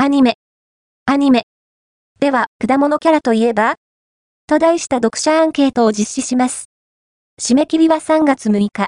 アニメ。では、果物キャラといえばと題した読者アンケートを実施します。締め切りは3月6日。